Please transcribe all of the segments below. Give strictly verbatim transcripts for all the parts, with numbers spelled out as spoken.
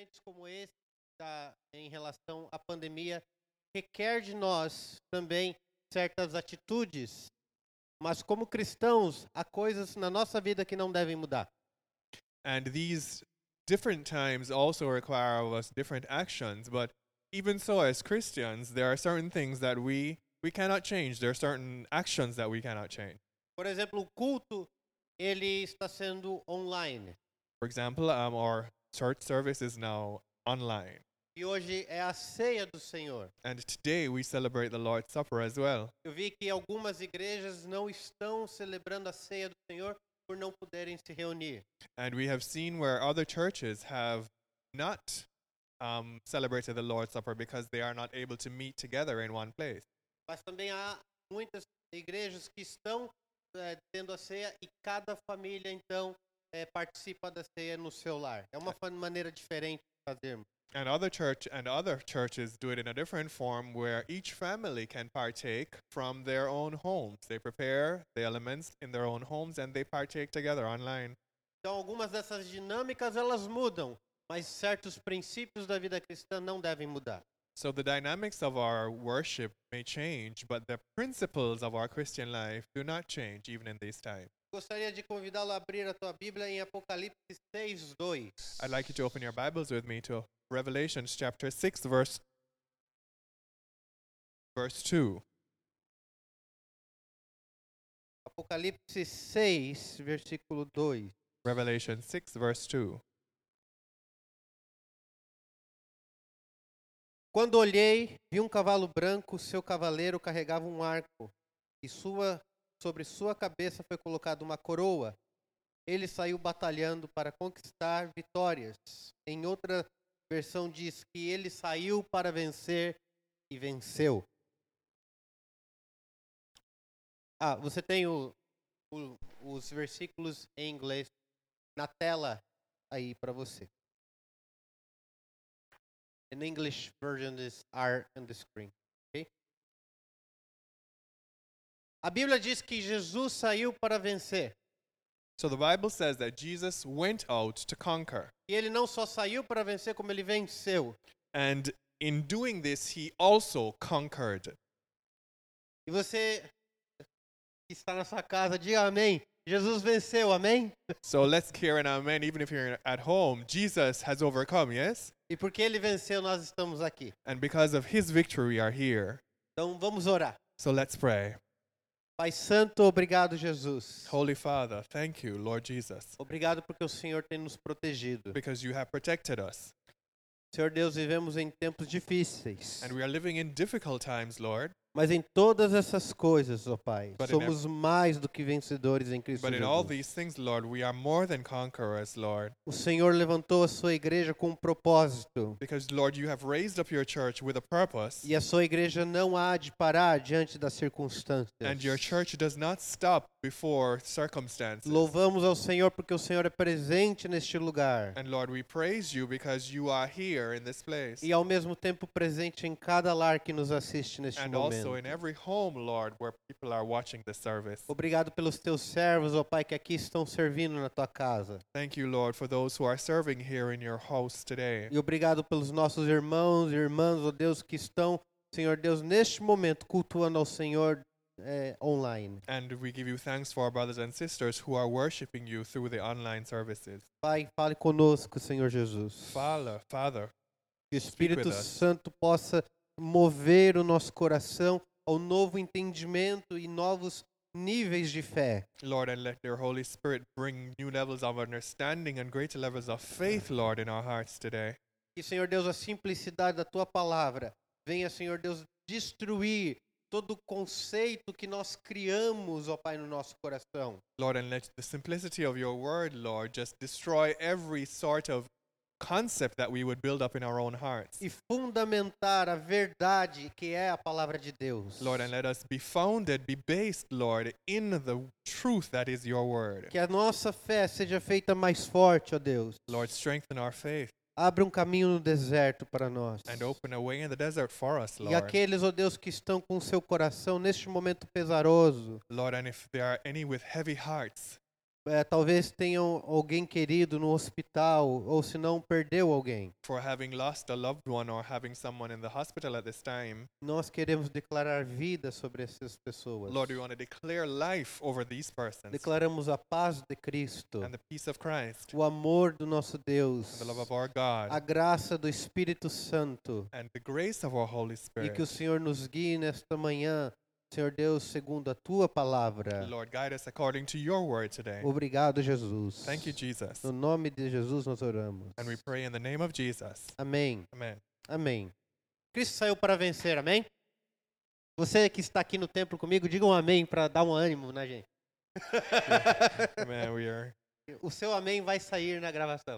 momentos como esse, da, em relação à pandemia, requer de nós também certas atitudes, mas como cristãos, há coisas na nossa vida que não devem mudar. And these different times also require of us different actions, but even so, as Christians, there are certain things that we we cannot change. There are certain actions that we cannot change. Por exemplo, o culto, ele está sendo online. For example, um, our church service is now online, E hoje é a ceia do Senhor. and today we celebrate the Lord's Supper as well. Eu vi que algumas igrejas não estão celebrando a ceia do Senhor por não poderem se reunir. And we have seen where other churches have not um, celebrated the Lord's Supper because they are not able to meet together in one place. Mas também há muitas igrejas que estão eh, tendo a ceia e cada família, então, eh, participa da ceia no seu lar. É uma fa- maneira diferente de fazermos. And other church and other churches do it in a different form where each family can partake from their own homes. They prepare the elements in their own homes and they partake together online. Então, algumas dessas dinâmicas, elas mudam, mas certos princípios da vida cristã não devem mudar. So the dynamics of our worship may change, but the principles of our Christian life do not change even in these times. Gostaria de convidá-lo a abrir a tua Bíblia em Apocalipse seis, dois. I'd like you to open your Bibles with me to Revelations chapter six, verse verse two. Apocalipse seis, versículo dois. Revelation six, verse two. Quando olhei, vi um cavalo branco, seu cavaleiro carregava um arco, e sua, sobre sua cabeça foi colocada uma coroa. Ele saiu batalhando para conquistar vitórias. Em outra versão diz que ele saiu para vencer e venceu. Ah, você tem o, o, os versículos em inglês na tela aí para você. An English version is are on the screen. Okay? A Bíblia diz que Jesus saiu para vencer. So the Bible says that Jesus went out to conquer. E ele não só saiu para vencer, como ele venceu. And in doing this, he also conquered. E você que está na sua casa, diga amém. Jesus venceu, amém? So let's hear an amen, even if you're at home. Jesus has overcome, yes? E porque ele venceu, nós estamos aqui. And because of his victory, we are here. Então vamos orar. So let's pray. Pai Santo, obrigado, Jesus. Holy Father, thank you, Lord Jesus, Obrigado porque o Senhor tem nos protegido. because you have protected us. Senhor Deus, vivemos em tempos difíceis. And we are living in difficult times, Lord. Mas em todas essas coisas, ó Pai, But in somos mais do que vencedores em Cristo But in all Jesus. these things, Lord, we are more than conquerors, Lord. O Senhor levantou a sua igreja com um propósito. Because, Lord, you have raised up your church with a purpose. E a sua igreja não há de parar diante das circunstâncias. And your church does not stop before circumstances. Louvamos ao Senhor porque o Senhor é presente neste lugar. And Lord, we praise you because you are here in this place. E ao mesmo tempo presente em cada lar que nos assiste neste And momento. also in every home, Lord, where people are watching the service. Obrigado pelos teus servos, ó Pai, que aqui estão servindo na tua casa. Thank you, Lord, for those who are serving here in your house today. E obrigado pelos nossos irmãos e irmãs, ó Deus, que estão, Senhor Deus, neste momento cultuando ao Senhor eh, online. And we give you thanks for our brothers and sisters who are worshiping you through the online services. Pai, fale conosco, Senhor Jesus. Father, Father, Que o with Espírito us. Santo possa mover o nosso coração ao novo entendimento e novos níveis de fé. Lord, and let your Holy Spirit bring new levels of understanding and greater levels of faith, Lord, in our hearts today. Que, Senhor Deus, a simplicidade da tua palavra venha, Senhor Deus, destruir todo o conceito que nós criamos, ó Pai, no nosso coração. Lord, and let the simplicity of your word, Lord, just destroy every sort of concept that we would build up in our own hearts. E fundamentar a verdade que é a palavra de Deus. Lord, and let us be founded, be based, Lord, in the truth that is your word. Que a nossa fé seja feita mais forte, ó Deus. Lord, strengthen our faith Abra um caminho no deserto para nós. and open a way in the desert for us, E Lord. aqueles, ó Deus, que estão com seu coração neste momento pesaroso, Lord, and if there are any with heavy hearts, eh, talvez tenham alguém querido no hospital, ou se não, perdeu alguém. for having lost a loved one or having someone in the hospital at this time. Nós queremos declarar vida sobre essas pessoas. Lord, we want to declare life over these persons Declaramos a paz de Cristo, and the peace of Christ o amor do nosso and Deus, the love of our God a graça do Espírito Santo, and the grace of our Holy e Spirit. que o Senhor nos guie nesta manhã, Senhor Deus, segundo a tua palavra. Lord, guide us according to your word today. Obrigado, Jesus. Thank you, Jesus. No nome de Jesus nós oramos. And we pray in the name of Jesus. Amém. Amen. Amém. Cristo saiu para vencer, amém? Você que está aqui no templo comigo, diga um amém para dar um ânimo na gente. Amen. We are. O seu amém vai sair na gravação.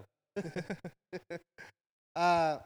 Ah,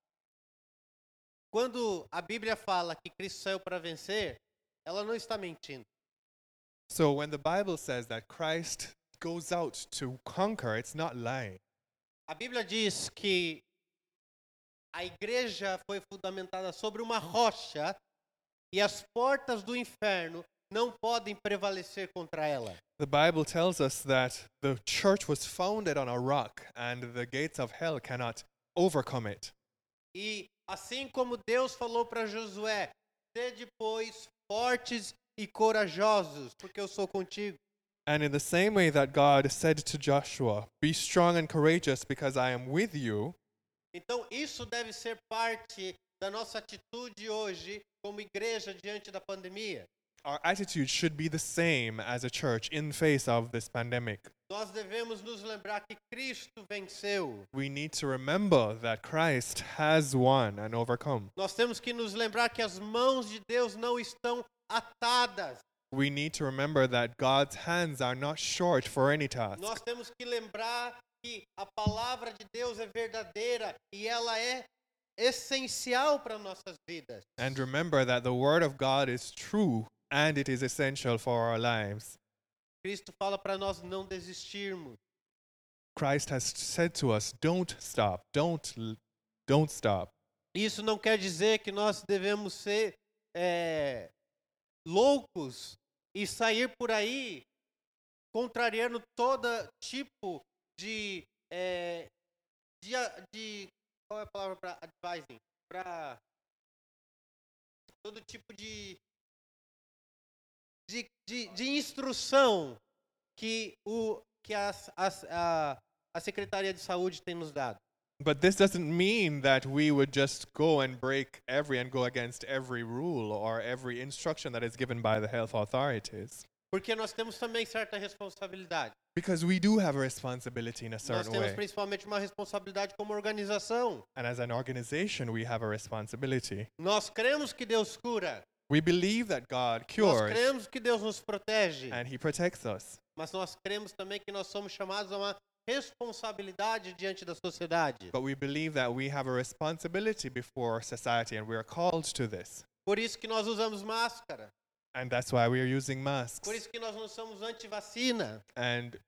quando a Bíblia fala que Cristo saiu para vencer, ela não está mentindo. So when the Bible says that Christ goes out to conquer, it's not lying. A Bíblia diz que a igreja foi fundamentada sobre uma rocha e as portas do inferno não podem prevalecer contra ela. The Bible tells us that the church was founded on a rock and the gates of hell cannot overcome it. E assim como Deus falou para Josué, sede pois fortes e corajosos, porque eu sou contigo. And in the same way that God said to Joshua, be strong and courageous because I am with you, Então isso deve ser parte da nossa atitude hoje como igreja diante da pandemia. our attitude should be the same as a church in face of this pandemic. Nós devemos nos lembrar que Cristo venceu. We need to remember that Christ has won and overcome. Nós temos que nos lembrar que as mãos de Deus não estão atadas. We need to remember that God's hands are not short for any task. Nós temos que lembrar que a palavra de Deus é verdadeira e ela é essencial para nossas vidas. And remember that the word of God is true and it is essential for our lives. Cristo fala para nós não desistirmos. Christ has said to us, don't stop, don't l- don't stop. Isso não quer dizer que nós devemos ser é, loucos e sair por aí contrariando todo tipo de, é, de, a- de qual é a palavra para advising? Para todo tipo de, de, de, de instrução que, o, que as, as, a, a Secretaria de Saúde tem nos dado. But this doesn't mean that we would just go and break every and go against every rule or every instruction that is given by the health authorities. Porque nós temos também certa responsabilidade. Because we do have a responsibility in a Nós certain temos way. principalmente uma responsabilidade como organização. And as an organization, we have a responsibility. Nós cremos que Deus cura. We believe that God Nós cures cremos que Deus nos protege. and He protects us. Mas nós cremos também que nós somos chamados a uma responsabilidade diante da sociedade. But we believe that we have a responsibility before society and we are called to this. Por isso que nós usamos máscara. And that's why we are using masks. Por isso que nós não somos anti-vacina, And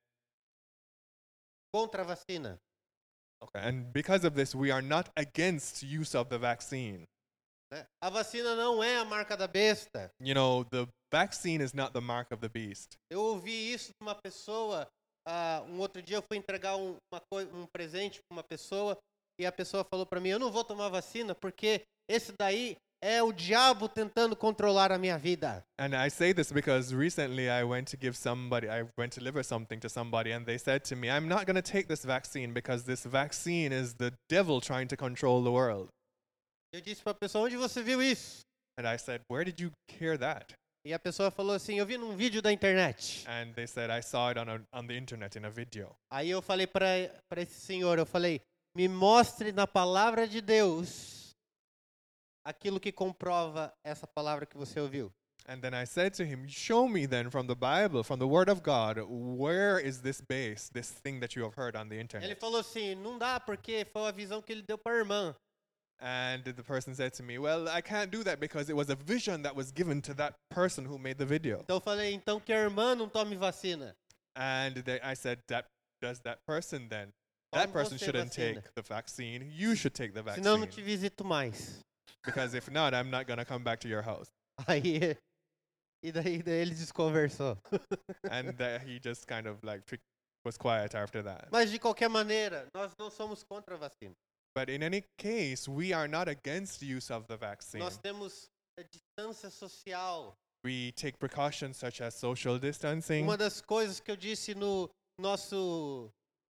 contra a vacina. okay, and because of this, we are not against use of the vaccine. Né? A vacina não é a marca da besta. You know, the vaccine is not the mark of the beast. Eu ouvi isso de uma pessoa, ah, um outro dia eu fui entregar um, uma coi- um presente para uma pessoa e a pessoa falou para mim, eu não vou tomar vacina porque esse daí é o diabo tentando controlar a minha vida. And I say this because recently I went to give somebody, I went to deliver something to somebody, and they said to me, I'm not going to take this vaccine because this vaccine is the devil trying to control the world. Eu disse para a pessoa, onde você viu isso? And I said, where did you hear that? E a pessoa falou assim, eu vi num vídeo da internet. And they said, I saw it on, a, on the internet in a video. Aí eu falei para esse senhor, eu falei, me mostre na palavra de Deus aquilo que comprova essa palavra que você ouviu. And then I said to him, show me then from the Bible, from the Word of God, where is this base, this thing that you have heard on the Ele internet? falou assim, não dá porque foi a visão que ele deu para a irmã. And the person said to me, well, I can't do that because it was a vision that was given to that person who made the video. Então eu falei, então que a irmã não tome vacina. And they, I said, that does that person then? That Tome person você shouldn't vacina. take the vaccine. You should take the Senão eu não vaccine. te visito mais. Because if not, I'm not going to come back to your house. Aí E daí, daí ele desconversou. And that he just kind of like pic- was quiet after that. Mas de qualquer maneira, nós não somos contra a vacina. But in any case, we are not against the use of the vaccine. Nós temos a distância social. We take precautions such as social distancing. Uma das coisas que eu disse no nosso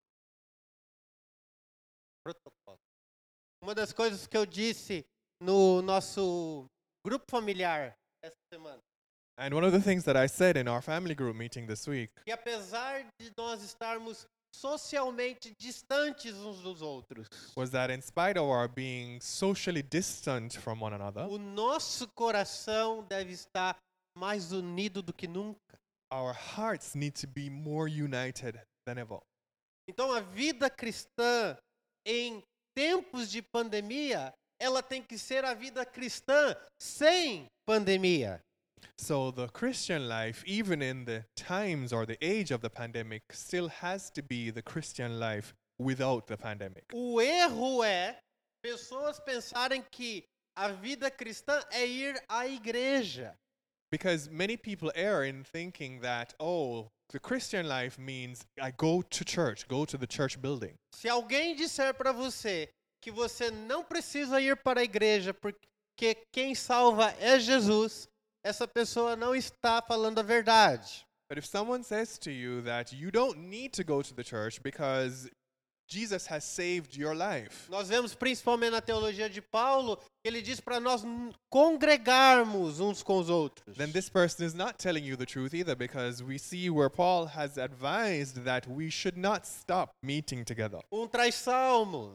protocolo. Uma das coisas que eu disse no nosso grupo familiar essa semana. And one of the things that I said in our family group meeting this week, Que apesar de nós estarmos socialmente distantes uns dos outros, was that in spite of our being socially distant from one another, o nosso coração deve estar mais unido do que nunca. our hearts need to be more united than ever. Então a vida cristã em tempos de pandemia, ela tem que ser a vida cristã sem pandemia. So the Christian life, even in the times or the age of the pandemic, still has to be the Christian life without the pandemic. O erro é pessoas pensarem que a vida cristã é ir à igreja. Because many people err in thinking that, oh, the Christian life means I go to church, go to the church building. Se alguém disser para você que você não precisa ir para a igreja porque quem salva é Jesus, essa pessoa não está falando a verdade. But if someone says to you that you don't need to go to the church because Jesus has saved your life, Nós vemos principalmente na teologia de Paulo que ele diz para nós n- congregarmos uns com os outros. then this person is not telling you the truth either, because we see where Paul has advised that we should not stop meeting together. Um traz salmo,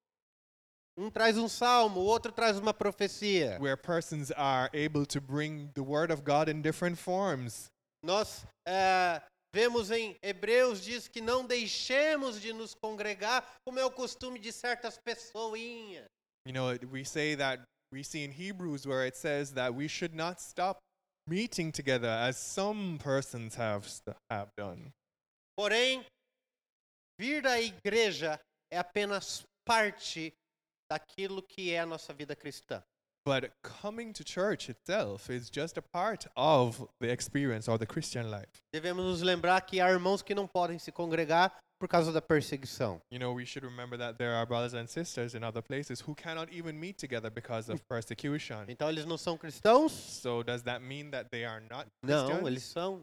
um traz um salmo, o outro traz uma profecia. Where persons are able to bring the word of God in different forms. Nós eh, vemos em Hebreus diz que não deixemos de nos congregar, como é o costume de certas pessoinhas. You know, it- we say that, we see in Hebrews where it says that we should not stop meeting together as some persons have, st- have done. Porém, vir à igreja é apenas parte daquilo que é a nossa vida cristã. But coming to church itself is just a part of the experience or the Christian life. Devemos nos lembrar que há irmãos que não podem se congregar por causa da perseguição. You know, we should remember that there are brothers and sisters in other places who cannot even meet together because of persecution. Então eles não são cristãos? So does that mean that they are not Não, Christians? eles são.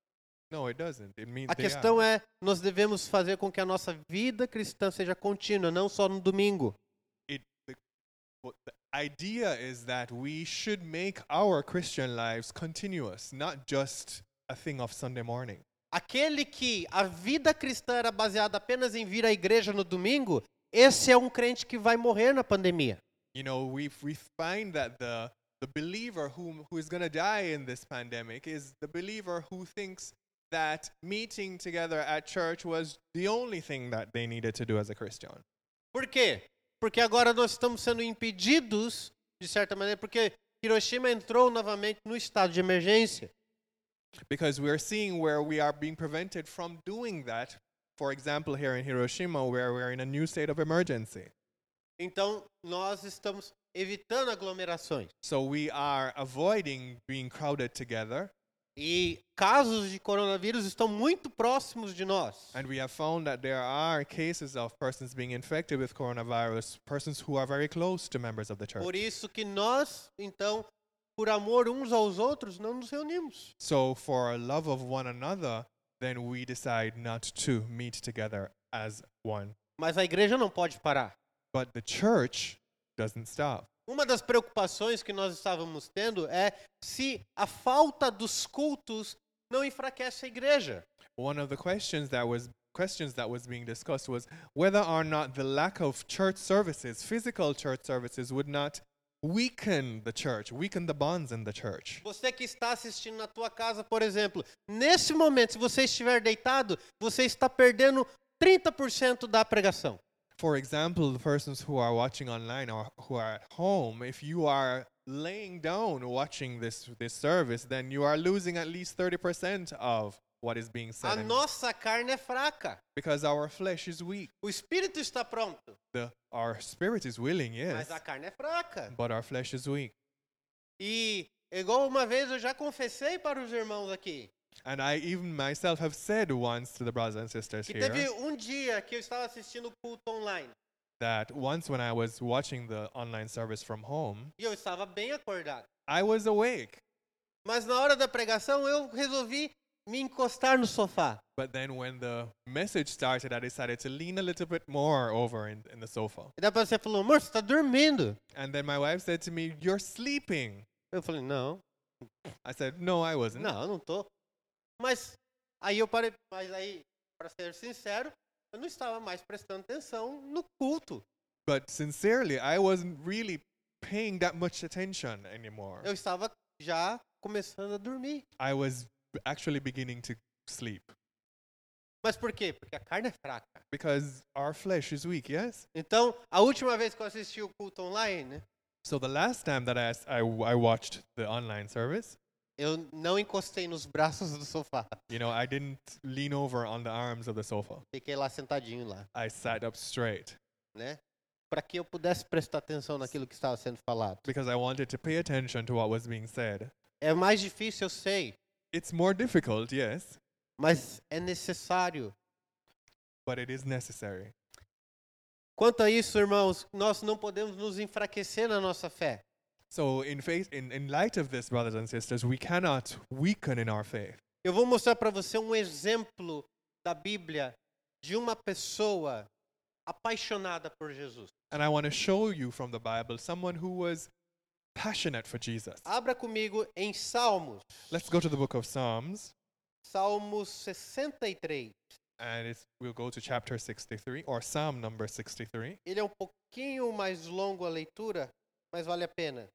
No, it doesn't. It means A they questão are. é, nós devemos fazer com que a nossa vida cristã seja contínua, não só no domingo. It, the, what the idea is that we should make our Christian lives continuous, not just a thing of Sunday morning. Aquele que a vida cristã era baseada apenas em vir à igreja no domingo, esse é um crente que vai morrer na pandemia. You know, we we find that the the believer who who is going to die in this pandemic is the believer who thinks that meeting together at church was the only thing that they needed to do as a Christian. Por quê? Porque agora nós estamos sendo impedidos, de certa maneira, porque Hiroshima entrou novamente no estado de emergência. Because we're seeing where we are being prevented from doing that. For example, here in Hiroshima, where we're in a new state of emergency. Então, nós estamos evitando aglomerações. So we are avoiding being crowded together. E casos de coronavírus estão muito próximos de nós. And we have found that there are cases of persons being infected with coronavirus, persons who are very close to members of the church. Por isso que nós, então, por amor uns aos outros, não nos reunimos. So for love of one another, then we decide not to meet together as one. Mas a igreja não pode parar. But the church doesn't stop. Uma das preocupações que nós estávamos tendo é se a falta dos cultos não enfraquece a igreja. One of the questions that was questions that was being discussed was whether or not the lack of church services, physical church services, would not weaken the church, weaken the bonds in the church. Você que está assistindo na tua casa, por exemplo, nesse momento, se você estiver deitado, você está perdendo trinta por cento da pregação. For example, the persons who are watching online or who are at home, if you are laying down watching this this service, then you are losing at least thirty percent of what is being A said. And nossa carne é fraca. because our flesh is weak. O espírito está pronto, The, our spirit is willing, yes, mas a carne é fraca. but our flesh is weak. E Igual uma vez eu já confessei para os irmãos aqui, And I even myself have said once to the brothers and sisters que here teve um dia que eu estava assistindo o culto online that once when I was watching the online service from home, e eu estava bem acordado. I was awake. Mas na hora da pregação eu resolvi me encostar no sofá. But then when the message started, I decided to lean a little bit more over in, in the sofa. E depois você falou, amor, você está dormindo. And then my wife said to me, "You're sleeping." Eu falei, não, I said, "No, I wasn't." não, eu não tô. Mas aí eu parei, mas aí, para ser sincero, eu não estava mais prestando atenção no culto. But sincerely, I wasn't really paying that much attention anymore. Eu estava já começando a dormir. I was actually beginning to sleep Mas por quê? Porque a carne é fraca. because our flesh is weak, yes? Então, a última vez que eu assisti o culto online, né, So the last time that I, s- I w- I watched the online service, eu não encostei nos braços do sofá. you know, I didn't lean over on the arms of the sofa. Fiquei lá sentadinho lá, I sat up straight né? Para que eu pudesse prestar atenção naquilo que estava sendo falado. because I wanted to pay attention to what was being said. É mais difícil, eu sei, It's more difficult, yes, mas é necessário. but it is necessary. Quanto a isso, irmãos, nós não podemos nos enfraquecer na nossa fé. So in faith, in, in light of this, brothers and sisters, we cannot weaken in our faith. Eu vou mostrar para você um exemplo da Bíblia de uma pessoa apaixonada por Jesus. And I want to show you from the Bible someone who was passionate for Jesus. Abra comigo em Salmos, Let's go to the book of Psalms, Salmos sessenta e três. and it's, we'll go to chapter sixty-three, or Psalm number sixty-three. Ele é um pouquinho mais longo a leitura, mas vale a pena.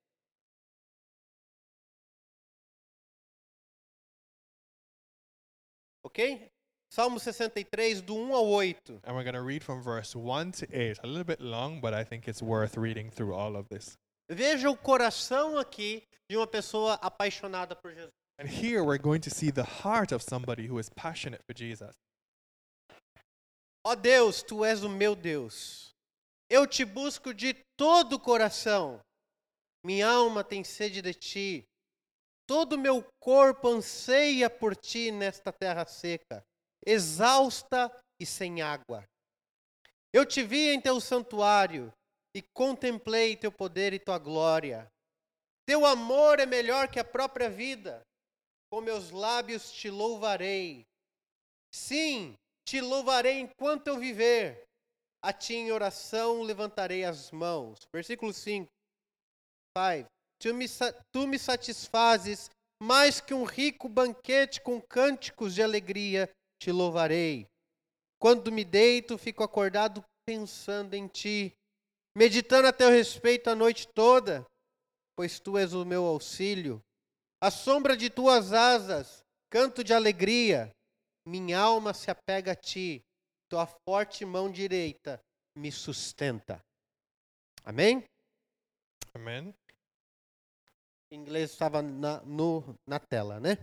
Ok? Salmo sessenta e três, do um ao oito. And we're going to read from verse one to eight. A little bit long, but I think it's worth reading through all of this. Veja o coração aqui de uma pessoa apaixonada por Jesus. And here we're going to see the heart of somebody who is passionate for Jesus. Ó Deus, Tu és o meu Deus. Eu te busco de todo o coração. Minha alma tem sede de Ti. Todo o meu corpo anseia por Ti nesta terra seca, exausta e sem água. Eu te vi em Teu santuário e contemplei Teu poder e Tua glória. Teu amor é melhor que a própria vida. Com meus lábios Te louvarei. Sim, Te louvarei enquanto eu viver. A Ti em oração levantarei as mãos. Versículo cinco. cinco. Tu me, sa- tu me satisfazes mais que um rico banquete com cânticos de alegria, te louvarei. Quando me deito, fico acordado pensando em ti, meditando a teu respeito a noite toda, pois tu és o meu auxílio. À sombra de tuas asas, canto de alegria, minha alma se apega a ti, tua forte mão direita me sustenta. Amém? Amen. Em inglês estava na, no, na tela, né?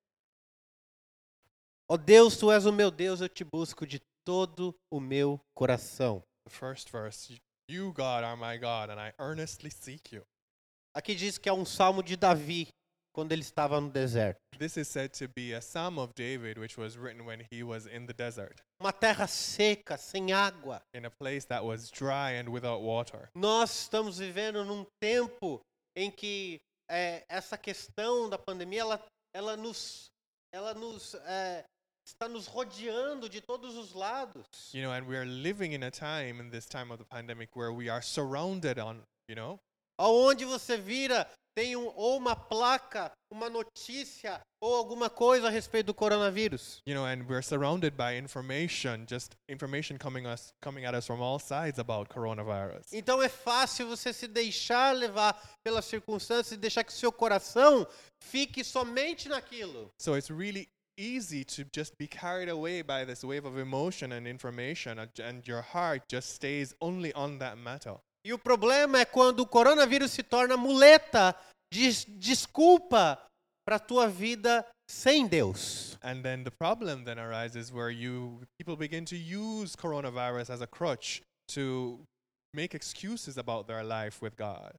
Ó Deus, Tu és o meu Deus, eu te busco de todo o meu coração. The first verse, "You, God, are my God, and I earnestly seek you." Aqui diz que é um salmo de Davi, quando ele estava no deserto. This is said to be a psalm of David, which was written when he was in the desert, Uma terra seca, sem água. in a place that was dry and without water. Nós estamos vivendo num tempo em que é, essa questão da pandemia, ela, ela nos, ela nos é, está nos rodeando de todos os lados. You know, and we are living in a time, in this time of the pandemic, where we are surrounded on, you know, Aonde você vira, tem um, ou uma placa, uma notícia, ou alguma coisa a respeito do coronavírus. you know, and we're surrounded by information, just information coming us, coming at us from all sides about coronavirus. Então é fácil você se deixar levar pelas circunstâncias e deixar que seu coração fique somente naquilo. So it's really easy to just be carried away by this wave of emotion and information, and- and your heart just stays only on that matter. E o problema é quando o coronavírus se torna muleta, des desculpa para a tua vida sem Deus. And then the problem then arises where you people begin to use coronavirus as a crutch to make excuses about their life with God.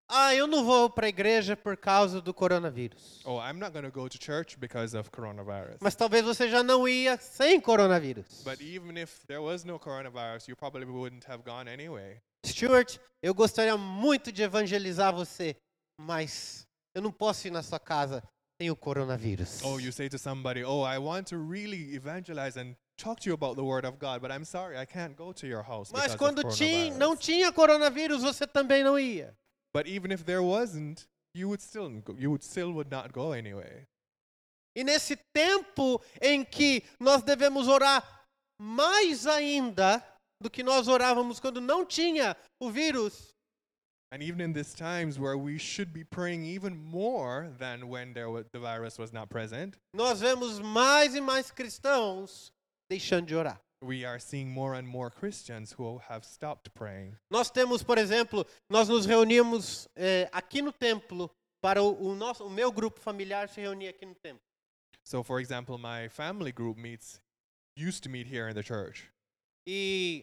Ah, eu não vou para a igreja por causa do coronavírus. Oh, I'm not going to go to church because of coronavirus. Mas talvez você já não ia sem coronavírus. But even if there was no coronavirus, you probably wouldn't have gone anyway. Stuart, eu gostaria muito de evangelizar você, mas eu não posso ir na sua casa sem o coronavírus. Oh, you say to somebody, oh, I want to really evangelize and talk to you about the word of God, but I'm sorry, I can't go to your house Mas because quando of tinha, coronavirus. não tinha coronavírus, você também não ia. But even if there wasn't, you would still go, you would still would not go anyway. E nesse tempo em que nós devemos orar mais ainda do que nós orávamos quando não tinha o vírus, And even in these times where we should be praying even more than when there was, the virus was not present, nós vemos mais e mais cristãos deixando de orar. we are seeing more and more Christians who have stopped praying. Nós temos, por exemplo, nós nos reunimos eh, aqui no templo para o, o nosso, o meu grupo familiar se reunir aqui no templo. So, for example, my family group meets used to meet here in the church. E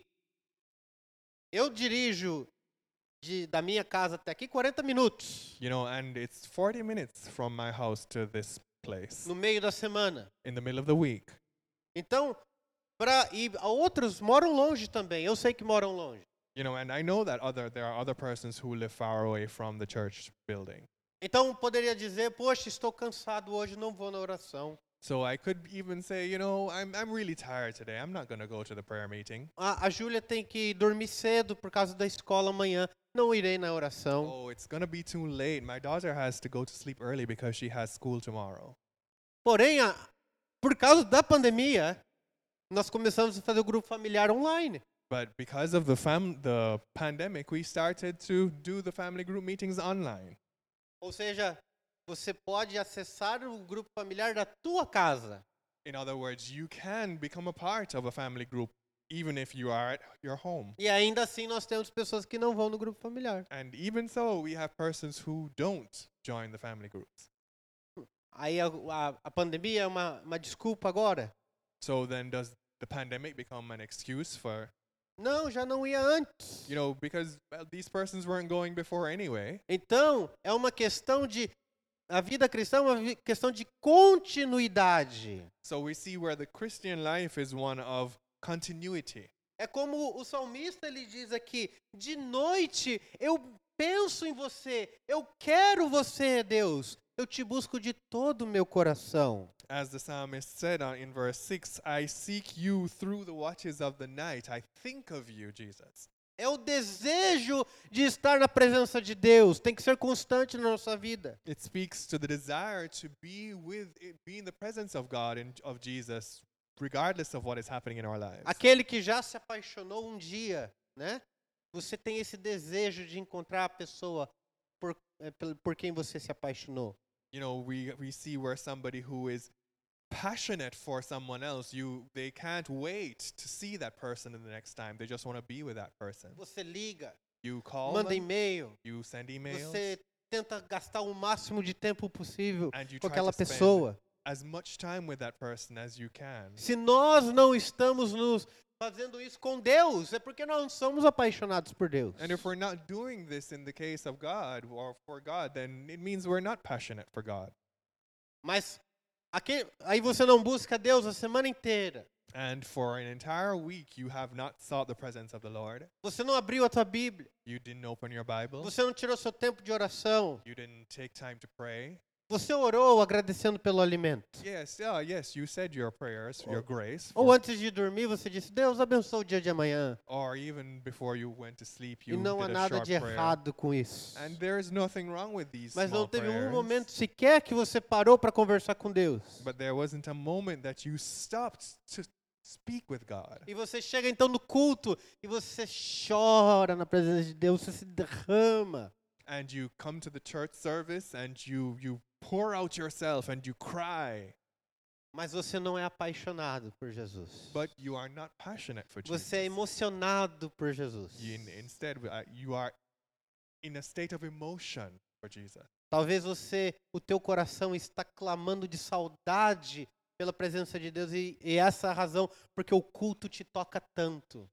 eu dirijo de, da minha casa até aqui quarenta minutos You know, and it's forty minutes from my house to this place no meio da semana. in the middle of the week. Então, para e outros moram longe também. Eu sei que moram longe. You know, and I know that other there are other persons who live far away from the church building. Então poderia dizer, poxa, estou cansado hoje, não vou na oração. So I could even say, you know, I'm I'm really tired today. I'm not going to go to the prayer meeting. A, a Júlia tem que dormir cedo por causa da escola amanhã. Não irei na oração. Oh, it's going to be too late. My daughter has to go to sleep early because she has school tomorrow. Porém, a, por causa da pandemia, nós começamos a fazer o grupo familiar online. But because of the fam the pandemic, we started to do the family group meetings online. Ou seja, você pode acessar o grupo familiar da tua casa. In other words, you can become a part of a family group even if you are at your home. E ainda assim nós temos pessoas que não vão no grupo familiar. And even so, we have persons who don't join the family groups. Aí a, a, a pandemia é uma, uma desculpa agora? So then does the pandemic become an excuse for, Não, já não ia antes. you know, because well, these persons weren't going before anyway. Então, é uma questão de... A vida cristã é uma vi- questão de continuidade. So we see where the Christian life is one of continuity. É como o salmista ele diz aqui, de noite eu penso em você, eu quero você, Deus, eu te busco de todo o meu coração. As the psalmist said uh, in verse six, I seek you through the watches of the night. I think of you, Jesus. É o desejo de estar na presença de Deus, tem que ser constante na nossa vida. It speaks to the desire to be with, be in the presence of God and of Jesus, regardless of what is happening in our lives. Aquele que já se apaixonou um dia, né? Você tem esse desejo de encontrar a pessoa por, eh, pel- por quem você se apaixonou. You know, we we see where somebody who is passionate for someone else, you they can't wait to see that person in the next time. They just want to be with that person. Você liga, You call manda them, e-mail, you send emails, você tenta gastar o máximo de tempo possível and you com try aquela to spend pessoa. as much time with that person as you can. Se nós não estamos nos fazendo isso com Deus, é porque nós não somos apaixonados por Deus. And if we're not doing this in the case of God or for God, then it means we're not passionate for God. Mas aqui, aí você não busca Deus a semana inteira. And for an entire week, you have not sought the presence of the Lord. Você não abriu a tua Bíblia. You didn't open your Bible. Você não tirou seu tempo de oração. You didn't take time to pray. Você orou agradecendo pelo alimento. Yes, yeah, yes, you said your prayers, your grace. Ou for- antes de dormir, você disse, Deus abençoe o dia de amanhã. or even before you went to sleep, E you não há did a nada short de prayer. errado com isso. And there is nothing wrong with these Mas small não teve um prayers. momento sequer que você parou para conversar com Deus. But there wasn't a moment that you stopped to speak with God. E você chega então no culto e você chora na presença de Deus, você se derrama. And you come to the church service and you you pour out yourself and you cry, Mas você não é apaixonado por Jesus. but you are not passionate for Jesus. Você é emocionado por Jesus. You- in- instead, uh, you are in a state of emotion for Jesus. Talvez você, o teu coração está clamando de saudade pela presença de Deus e, e essa é a razão porque o culto te toca tanto.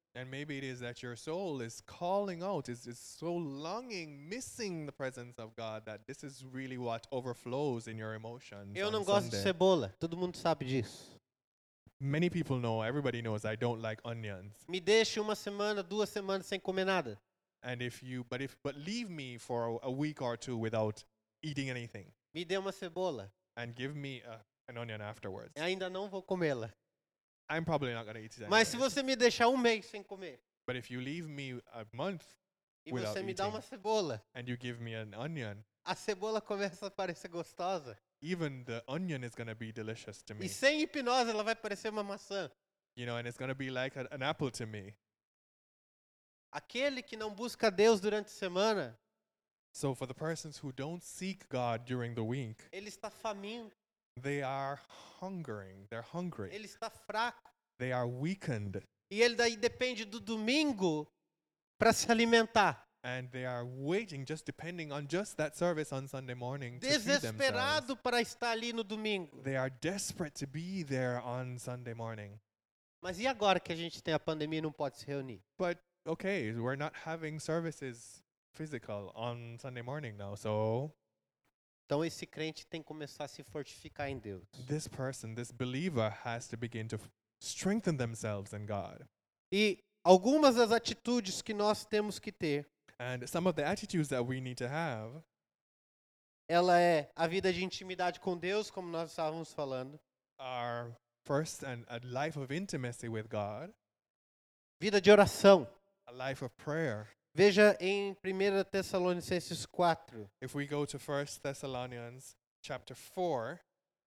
And maybe it is that your soul is calling out, is, is so longing, missing the presence of God, that this is really what overflows in your emotions Eu on não gosto de Sunday. cebola, todo mundo sabe disso. Many people know, everybody knows I don't like onions. Me deixe uma semana, duas semanas sem comer nada. And if you, but if, but leave me for a, a week or two without eating anything, Me dê uma cebola, and give me a, an onion afterwards. ainda não vou comê-la. I'm probably not going to eat it Mas se anyway. você me deixar um mês sem comer, But if you leave me a month e Without você me dá eating. uma cebola, and you give me an onion, a cebola começa a parecer gostosa. even the onion is going to be delicious to me. E sem hipnose ela vai parecer uma maçã. You know, and it's going to be like a, an apple to me. Aquele que não busca Deus durante a semana, So for the persons who don't seek God during the week, ele está faminto, they are hungering. They're hungry. ele está fraco. They are weakened. E ele daí depende do domingo para se alimentar. And they are waiting, just depending on just that service on Sunday morning to feed themselves. Desesperado para estar ali no domingo. They are desperate to be there on Sunday morning. Mas e agora que a gente tem a pandemia e não pode se reunir? But okay, we're not having services physical on Sunday morning now. So Então esse crente tem que começar a se fortificar em Deus. this person, this believer has to begin to f- strengthen themselves in God. E algumas das atitudes que nós temos que ter, And some of the attitudes that we need to have ela é a vida de intimidade com Deus, como nós estávamos falando, are first and a life of intimacy with God, vida de oração. a life of prayer. Veja em primeira Tessalonicenses quatro. If we go to First Thessalonians chapter four,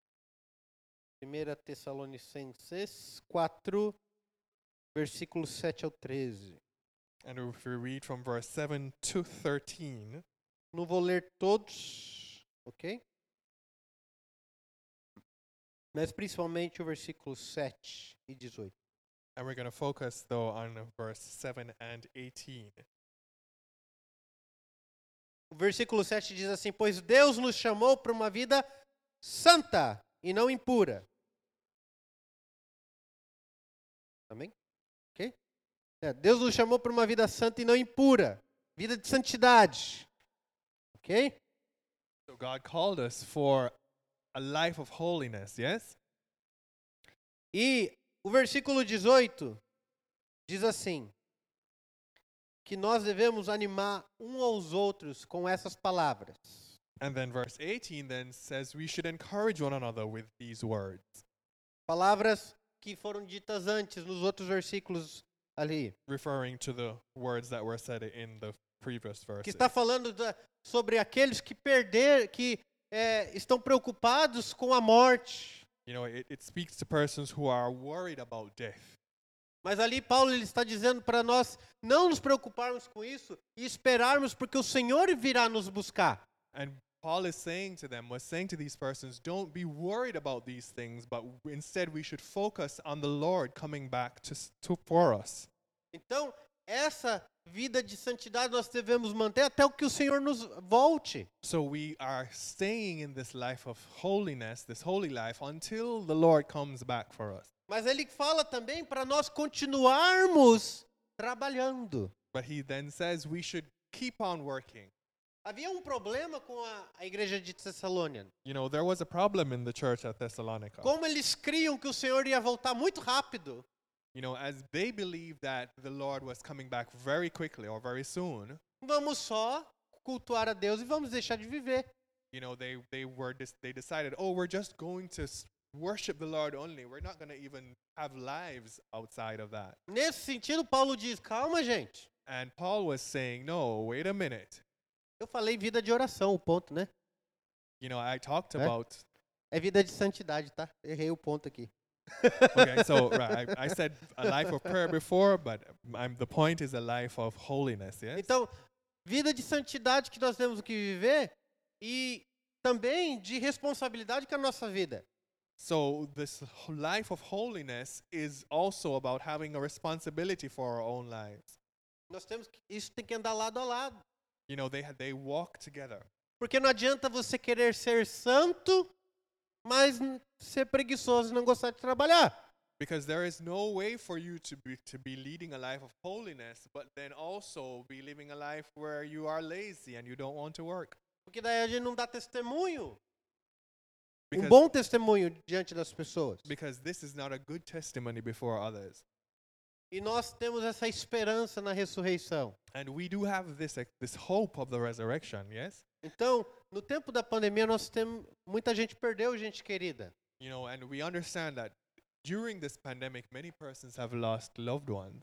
primeira Tessalonicenses quatro, versículos sete ao treze. and if we read from verse seven to thirteen, Não vou ler todos, ok? Mas principalmente o versículo sete e dezoito. and we're going to focus though on verse seven and eighteen. O versículo sete diz assim: Pois Deus nos chamou para uma vida santa e não impura. Amém? Ok? É, Deus nos chamou para uma vida santa e não impura. Vida de santidade. Ok? So God called us for a life of holiness, yes? E o versículo dezoito diz assim: que nós devemos animar um aos outros com essas palavras. And then verse eighteen then says we should encourage one another with these words, Palavras que foram ditas antes nos outros versículos ali. referring to the words that were said in the previous Que verses. está falando da, sobre aqueles que perder, que é, estão preocupados com a morte. You know, it, it speaks to persons who are worried about death. Mas ali Paulo ele está dizendo para nós não nos preocuparmos com isso e esperarmos porque o Senhor virá nos buscar. And Paul is saying to them, was saying to these persons, don't be worried about these things, but w- instead we should focus on the Lord coming back to, s- to for us. Então, essa vida de santidade nós devemos manter até o que o Senhor nos volte. So we are staying in this life of holiness, this holy life, until the Lord comes back for us. Mas ele fala também para nós continuarmos trabalhando. But he then says we should keep on working. Havia um problema com a, a igreja de Tessalônia. You know, there was a problem in the church at Thessalonica. Como eles criam que o Senhor ia voltar muito rápido, You know, as they believed that the Lord was coming back very quickly or very soon, vamos só cultuar a Deus e vamos deixar de viver. you know, they they were dis- they decided, oh, we're just going to s- worship the Lord only. We're not going to even have lives outside of that. Nesse sentido, Paulo diz, calma, gente. And Paul was saying, no, wait a minute. Eu falei vida de oração, o ponto, né? You know, I talked Eh? about É vida de santidade, tá? Errei o ponto aqui. okay, so right, I, I said a life of prayer before, but I'm, the point is a life of holiness, yes? Então, vida de santidade que nós temos que viver e também de responsabilidade com a nossa vida. So this h- life of holiness is also about having a responsibility for our own lives. Nós temos que, isso tem que andar lado a lado. You know, they ha- they walk together. Porque não adianta você querer ser santo, mas n- ser preguiçoso e não gostar de trabalhar. Because there is no way for you to be to be leading a life of holiness, but then also be living a life where you are lazy and you don't want to work. Porque daí a gente não dá testemunho, um Because, bom testemunho diante das pessoas. because this is not a good testimony before others. E nós temos essa esperança na ressurreição. And we do have this ex- this hope of the resurrection, yes? Então, no tempo da pandemia, nós temos muita gente perdeu gente querida. You know, and we understand that during this pandemic, many persons have lost loved ones.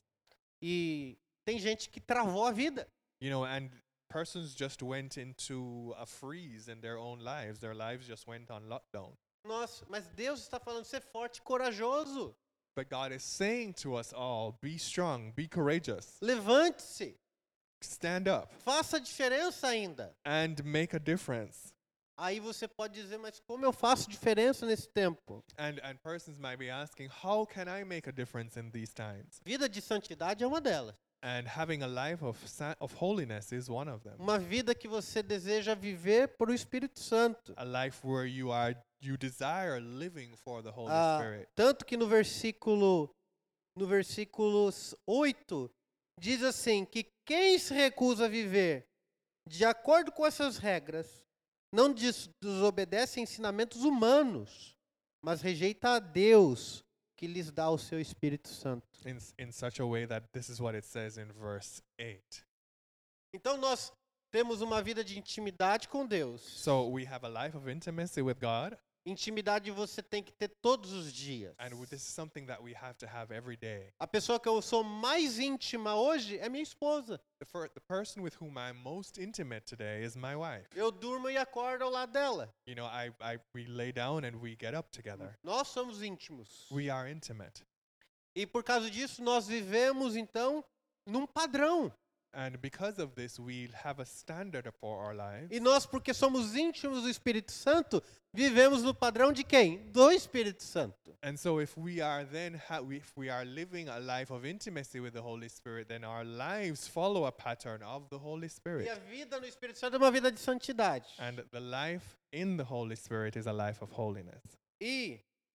E tem gente que travou a vida. You know, and persons just went into a freeze in their own lives. Their lives just went on lockdown. Nossa, mas Deus está falando ser forte e corajoso. But God is saying to us all, be strong, be courageous, Levante-se, stand up, faça a diferença ainda. and make a difference. Aí você pode dizer, mas como eu faço diferença nesse tempo? And and persons might be asking, how can I make a difference in these times? Vida de santidade é uma delas. And having a life of sa- of holiness is one of them. Uma vida que você deseja viver por o Espírito Santo. A life where you are you desire living for the Holy Ah, Spirit. tanto que no versículo no versículo oito diz assim que quem se recusa a viver de acordo com essas regras não des- desobedece a ensinamentos humanos, mas rejeita a Deus que lhes dá o seu Espírito Santo. In s- in such a way that this is what it says in verse eight. Então nós temos uma vida de intimidade com Deus. So we have a life of intimacy with God, Intimidade você tem que ter todos os dias. and w- this is something that we have to have every day. A pessoa que eu sou mais íntima hoje é minha esposa. The, fir- the person with whom I'm most intimate today is my wife. Eu durmo e acordo ao lado dela. You know, I, I we lay down and we get up together. Nós somos íntimos. We are intimate. E por causa disso nós vivemos então num padrão. And because of this, we have a standard for our lives. E nós, porque somos íntimos do Espírito Santo, vivemos no padrão de quem? Do Espírito Santo. And so if we are then, ha- we- if we are living a life of intimacy with the Holy Spirit, then our lives follow a pattern of the Holy E Spirit. a vida no Espírito Santo é uma vida de santidade. And the life in the Holy Spirit is a life of holiness. E,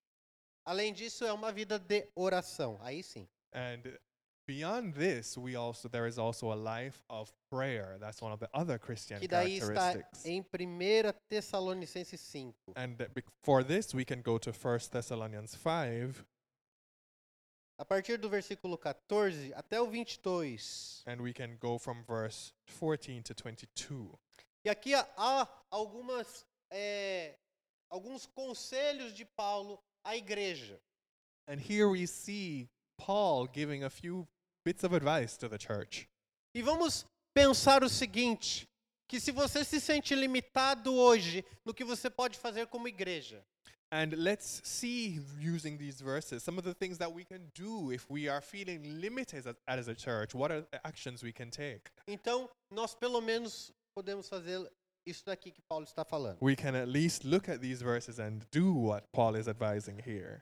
além disso, é uma vida de oração. Aí sim. And beyond this, we also there is also a life of prayer. That's one of the other Christian Que daí está characteristics. em primeira Tessalonicenses cinco. And uh, bec- for this, we can go to First Thessalonians five, A partir do versículo quatorze até o vinte e dois. and we can go from verse fourteen to twenty-two. E aqui há- há algumas, é, alguns conselhos de Paulo à igreja. And here we see Paul giving a few bits of advice to the church. E vamos pensar o seguinte, que se você se sente limitado hoje no que você pode fazer como igreja, And let's see, using these verses, some of the things that we can do if we are feeling limited as, as a church. What are the actions we can take? então nós pelo menos podemos fazer isso daqui que Paulo está falando. We can at least look at these verses and do what Paul is advising here.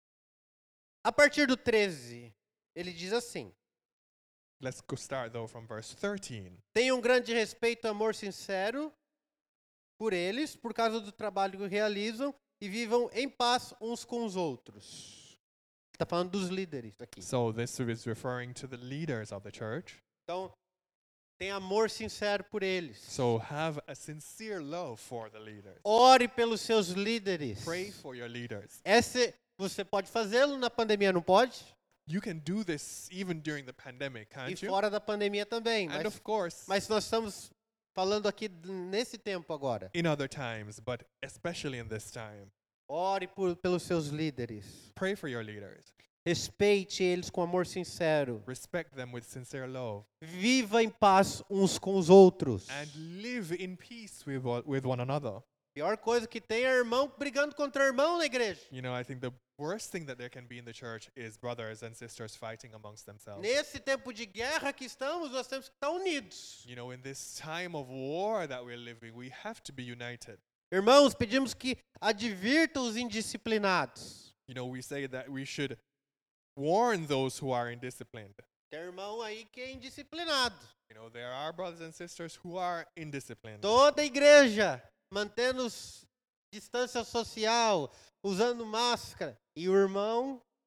A partir do treze, ele diz assim: Let's go start though from verse thirteen. tenham um grande respeito e amor sincero por eles, por causa do trabalho que realizam, e vivam em paz uns com os outros. Está falando dos líderes aqui. So this is referring to the leaders of the church. Então, tem amor sincero por eles. So have a sincere love for the leaders. Ore pelos seus líderes. Pray for your leaders. Esse, você pode fazê-lo na pandemia, não pode? You can do this even during the pandemic, E can't you? fora da pandemia também. And Mas, of course, mas nós estamos falando aqui d- nesse tempo agora. in other times, but especially in this time. Ore por, pelos seus líderes. Pray for your leaders. Respeite eles com amor sincero. Respect them with sincere love. Viva em paz uns com os outros. And live in peace with, o- with one another. Pior coisa que tem é irmão brigando contra irmão na igreja. You know, I think the worst thing that there can be in the church is brothers and sisters fighting amongst themselves. Nesse tempo de guerra que estamos, nós temos que estar unidos. You know, in this time of war that we're living, we have to be united. Irmãos, pedimos que advirtam os indisciplinados. You know, we say that we should warn those who are indisciplined. Tem irmão aí que é indisciplinado. You know, there are brothers and sisters who are indisciplined. Toda a igreja mantendo s- distância social, usando máscara. E o irmão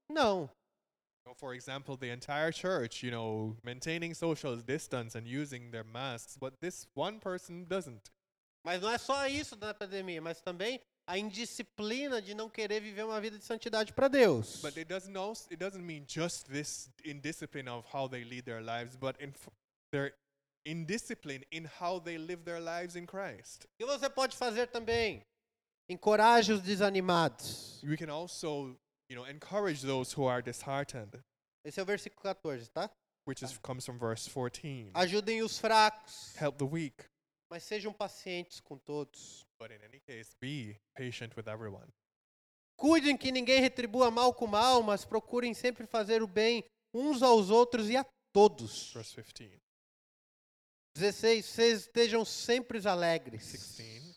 Não. So for example, the entire church, you know, maintaining social distance and using their masks, but this one person doesn't. Mas não é só isso da pandemia, mas também a indisciplina de não querer viver uma vida de santidade para Deus. But it doesn't also, it doesn't mean just this indiscipline of how they lead their lives, but in f- their indiscipline in how they live their lives in Christ. E você pode fazer também? Encoraje os desanimados. We can also, you know, encourage those who are disheartened, Esse é o versículo quatorze, tá? which is comes from verse fourteen. Ajudem os fracos, Help the weak, mas sejam pacientes com todos. but in any case, be patient with everyone. Cuidem que ninguém retribua mal com mal, mas procurem sempre fazer o bem uns aos outros e a todos. Verse fifteen. dezesseis. Vocês estejam sempre alegres. sixteen.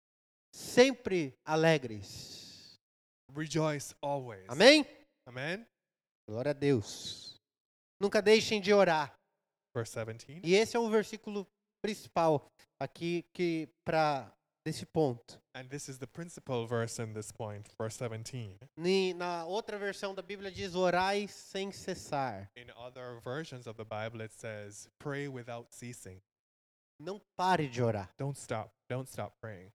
Sempre alegres. Rejoice always. Amém? Amen. Glória a Deus. Nunca deixem de orar. Verse seventeen. E esse é o versículo principal aqui que para desse ponto. And this is the principal verse in this point, verse seventeen. Ni- Na outra versão da Bíblia diz orai sem cessar. In other versions of the Bible, it says, pray without ceasing. Não pare de orar. Don't stop. Don't stop praying.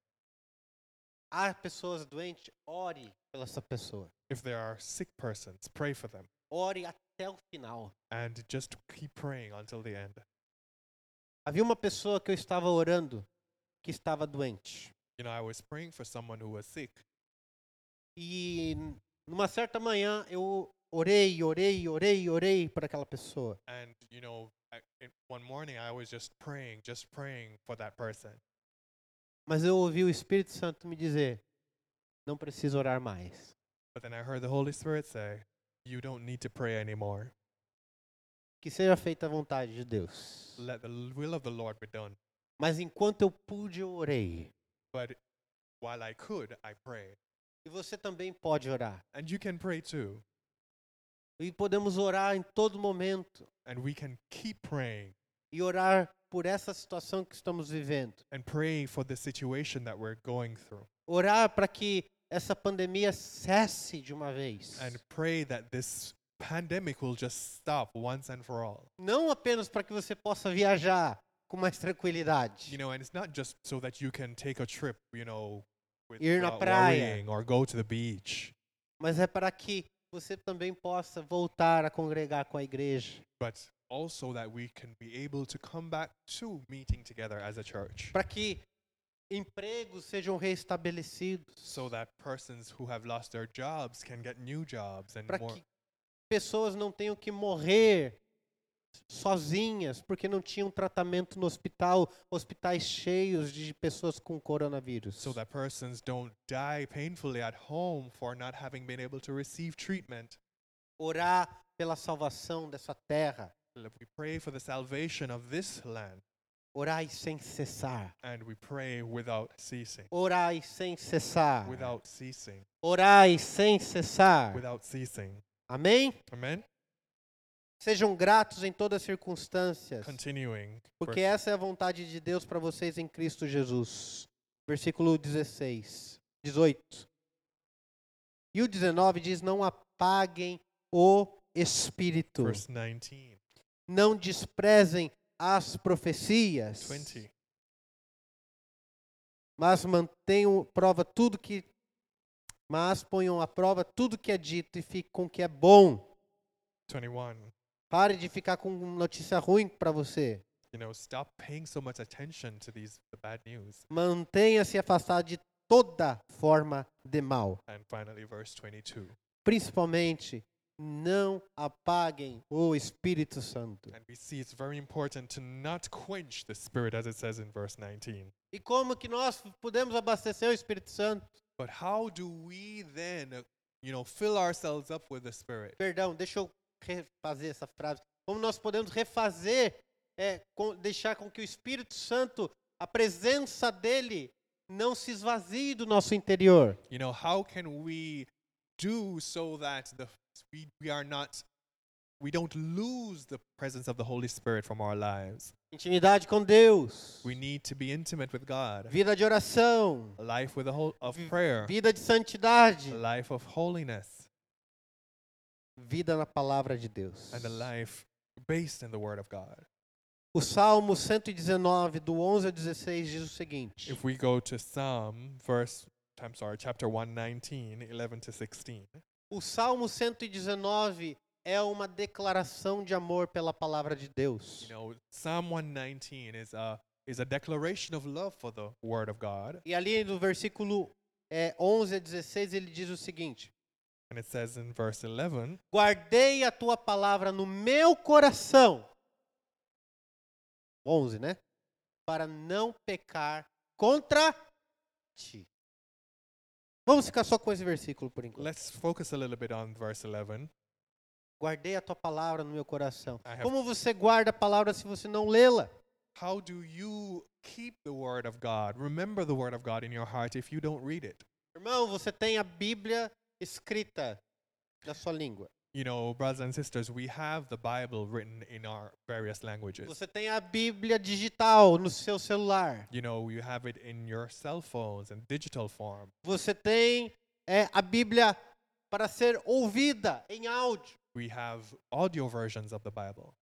Há pessoas doentes, ore pela essa pessoa. If there are sick persons, pray for them. Ore até o final. And just keep praying until the end. Havia uma pessoa que eu estava orando que estava doente. You know, I was praying for someone who was sick. E numa certa manhã eu orei, orei, orei, orei por aquela pessoa. And, you know, I, in, one morning I was just praying, just praying for that person. Mas eu ouvi o Espírito Santo me dizer, não precisa orar mais. But then I heard the Holy Spirit say, you don't need to pray anymore. Que seja feita a vontade de Deus. Let the l- will of the Lord be done. Mas enquanto eu pude, eu orei. But while I could, I prayed. E você também pode orar. And you can pray too. E podemos orar em todo momento. And we can keep praying E orar por essa situação que estamos vivendo. and pray for the situation that we're going through. Orar para que essa pandemia cesse de uma vez. And pray that this pandemic will just stop once and for all. Não apenas para que você possa viajar com mais tranquilidade. You know, and it's not just so that you can take a trip, you know, with, Ir na without praia. worrying or go to the beach. Mas é para que você também possa voltar a congregar com a igreja. But also that we can be able to come back to meeting together as a church. Para que empregos sejam restabelecidos. So that persons who have lost their jobs can get new jobs and Para more. que pessoas não tenham que morrer sozinhas porque não tinham tratamento no hospital, hospitais cheios de pessoas com coronavírus. So that persons don't die painfully at home for not having been able to receive treatment. Orar pela salvação dessa terra. We pray for the salvation of this land. Orai sem cessar. And we pray without ceasing. Orai sem cessar. Without ceasing. Orai sem cessar. Without ceasing. Amém? Amen? Sejam gratos em todas as circunstâncias, Continuing. porque verse- essa é a vontade de Deus para vocês em Cristo Jesus. Versículo dezesseis, dezoito. E o dezenove diz: não apaguem o espírito. Verse nineteen. Não desprezem as profecias, twenty. mas mantenham prova tudo que mas ponham à prova tudo que é dito e fiquem com o que é bom. twenty-one. Pare de ficar com notícia ruim para você. You know, stop paying so much attention to these the bad news. Mantenha-se afastado de toda forma de mal. And finally, verse twenty-two. Principalmente, não apaguem o Espírito Santo. And we see it's very important to not quench the Spirit, as it says in verse nineteen. E como que nós podemos abastecer o Espírito Santo? But how do we then, uh, you know, fill ourselves up with the Spirit? Perdão, deixa eu refazer essa frase. Como nós podemos refazer, é, com, deixar com que o Espírito Santo, a presença dele, não se esvazie do nosso interior? You know, how can we do so that the we, we are not, we don't lose the presence of the Holy Spirit from our lives? Intimidade com Deus, We need to be intimate with God. vida de oração, A life with a whole of Vi- prayer. vida de santidade. A life of holiness. vida na palavra de Deus. and a life based in the Word of God. O Salmo cento e dezenove, do onze ao dezesseis, diz o seguinte: If we go to Psalm, verse, I'm sorry, chapter one nineteen, eleven to sixteen, O Salmo cento e dezenove é uma declaração de amor pela palavra de Deus. you know, Psalm one nineteen is a is a declaration of love for the Word of God, E ali no versículo é, onze a dezesseis ele diz o seguinte: and it says in verse eleven, Guardei a tua palavra no meu coração. onze, né? Para não pecar contra ti. Vamos ficar só com esse versículo por enquanto. let's focus a little bit on verse eleven. Guardei a tua palavra no meu coração. I have- Como você guarda a palavra se você não lê-la? How do you keep the Word of God? Remember the Word of God in your heart if you don't read it. Irmão, você tem a Bíblia escrita na sua língua. You know, brothers and sisters, we have the Bible written in our various languages. Você tem a Bíblia digital no seu celular. You know, you have it in your cell phones and digital form. Você tem é, a Bíblia para ser ouvida em áudio. We have audio versions of the Bible.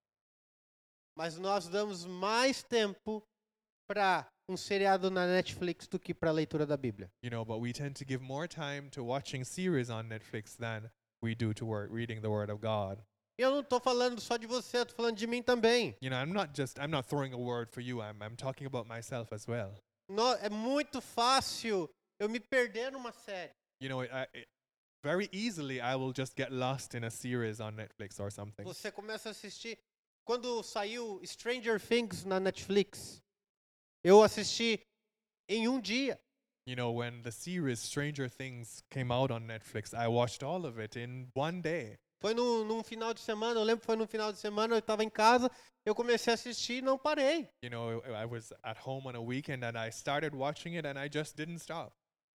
Mas nós damos mais tempo para um seriado na Netflix do que para a leitura da Bíblia. You know, but we tend to give more time to watching series on Netflix than we do to wor- reading the Word of God. E eu não estou falando só de você, eu estou falando de mim também. You know, I'm not just, I'm not throwing a word for you. I'm, I'm talking about myself as well. No- é muito fácil eu me perder numa série. You know, I, I, very easily I will just get lost in a series on Netflix or something. Você começa a assistir. Quando saiu Stranger Things na Netflix, eu assisti em um dia. You know, when the series Stranger Things came out on Netflix, I watched all of it in one day. Foi no, num final de semana, eu lembro que foi num final de semana, eu estava em casa, eu comecei a assistir e não parei. You know, I I was at home on a weekend and I started watching it and I just didn't stop.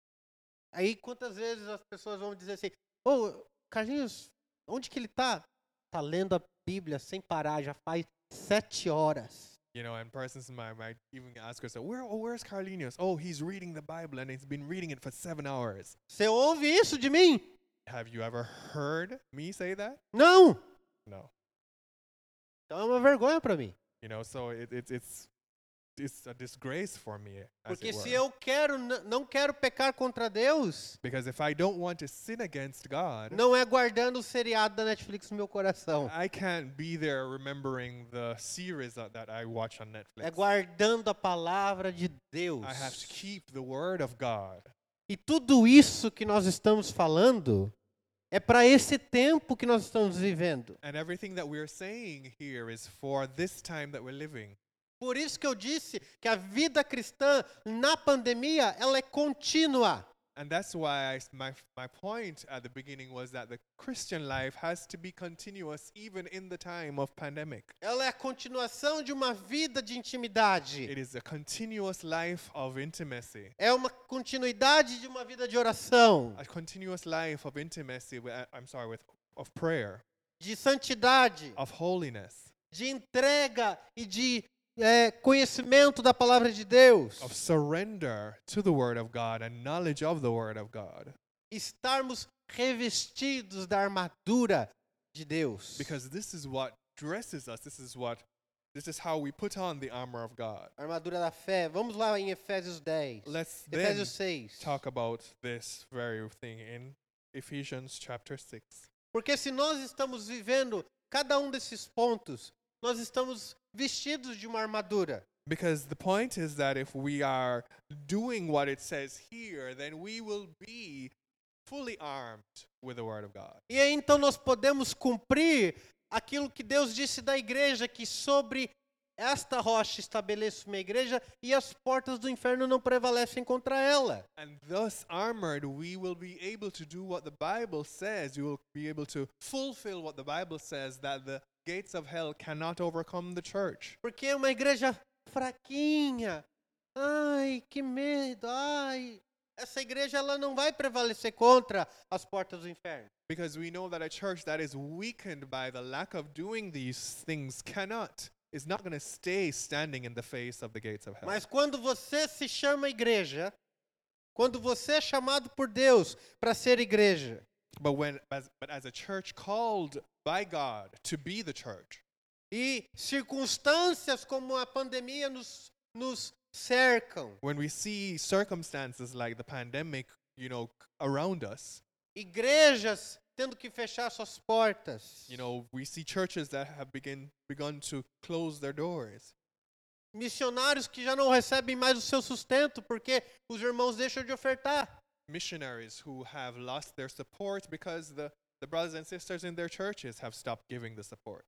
Aí quantas vezes as pessoas vão dizer assim, ô, Carlinhos, onde que ele tá? Tá lendo a Bíblia sem parar, já faz sete horas. You know, and persons might, might even ask us, Where, oh, where's Carlinius? Oh, he's reading the Bible and he's been reading it for seven hours. Você ouve isso de mim? Have you ever heard me say that? Não. No. Então é uma vergonha para mim. You know, so it, it, it's it's a disgrace for me, as Porque it se were. eu quero, n- não quero pecar contra Deus, Because if I don't want to sin against God, não é guardando o seriado da Netflix no meu coração. I can't be there remembering the series that, that I watch on É Netflix. guardando a palavra de Deus. I have to keep the Word of God. E tudo isso que nós estamos falando é para esse tempo que nós estamos vivendo. And everything that we're saying here is for this time that we're living. Por isso que eu disse que a vida cristã na pandemia, ela é contínua. And that's why I s my, my point at the beginning was that the Christian life has to be continuous even in the time of pandemic. Ela é a continuação de uma vida de intimidade. It is a continuous life of intimacy. É uma continuidade de uma vida de oração, A continuous life of intimacy, with, uh, I'm sorry, with, of prayer, de santidade, of holiness, de entrega e de é, conhecimento da palavra de Deus. of surrender to the Word of God and knowledge of the Word of God. Estarmos revestidos da armadura de Deus. Because this is what dresses us. This is what, this is how we put on the armor of God. A armadura da fé. Vamos lá em Efésios dez. Let's then Efésios seis. talk about this very thing in Ephesians chapter six. Porque se nós estamos vivendo cada um desses pontos, nós estamos vestidos de uma armadura. Because the point is that if we are doing what it says here, then we will be fully armed with the Word of God. E aí então nós podemos cumprir aquilo que Deus disse da igreja, que sobre esta rocha estabeleço uma igreja e as portas do inferno não prevalecem contra ela. And thus armored, we will be able to do what the Bible says. You will be able to fulfill what the Bible says, that the gates of hell cannot overcome the church. Porque é uma igreja fraquinha. Ai, que medo. Ai, essa igreja ela não vai prevalecer contra as portas do inferno. Because we know that a church that is weakened by the lack of doing these things cannot, is not going to stay standing in the face of the gates of hell. Mas quando você se chama igreja, quando você é chamado por Deus para ser igreja, But when as, but as a church called by God to be the church, e circunstâncias como a pandemia nos, nos cercam, when we see circumstances like the pandemic, you know, c- around us, igrejas tendo que fechar suas portas, you know, we see churches that have begin begun to close their doors. missionários que já não recebem mais o seu sustento porque os irmãos deixam de ofertar. Missionaries who have lost their support because the, the brothers and sisters in their churches have stopped giving the support.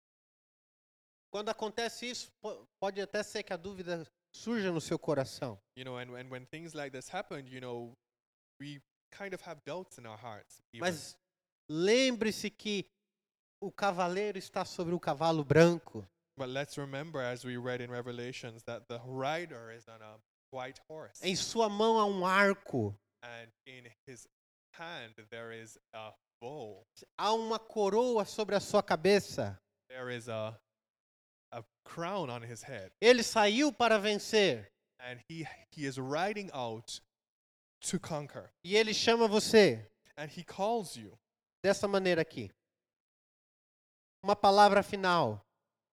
Quando acontece isso, po- pode até ser que a dúvida surja no seu coração. You know, and, and when things like this happen, you know, we kind of have doubts in our hearts. even. Mas lembre-se que o cavaleiro está sobre o cavalo branco. But let's remember, as we read in Revelations, that the rider is on a white horse, Em sua mão há um arco, and in his hand there is a bow. há uma coroa sobre a sua cabeça. There is a a crown on his head, Ele saiu para vencer and he he is riding out to conquer, e ele chama você and he calls you. dessa maneira aqui. Uma palavra final.